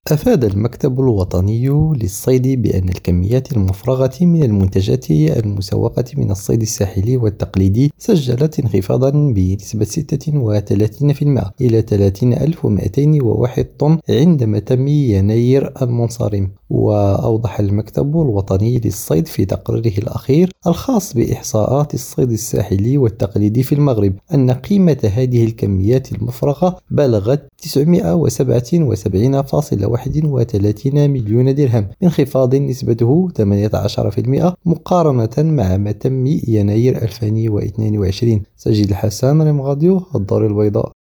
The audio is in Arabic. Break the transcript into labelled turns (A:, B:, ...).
A: أفاد المكتب الوطني للصيد بأن الكميات المفرغة من المنتجات المسوقة من الصيد الساحلي والتقليدي سجلت انخفاضا بنسبة 36% إلى 30,201 طن عند متم يناير المنصرم. وأوضح المكتب الوطني للصيد في تقريره الأخير الخاص بإحصاءات الصيد الساحلي والتقليدي في المغرب أن قيمة هذه الكميات المفرغة بلغت 977.31 مليون درهم، بانخفاض نسبته 18% مقارنة مع متم يناير 2022. سجل الحسن، ريم راديو الدار البيضاء.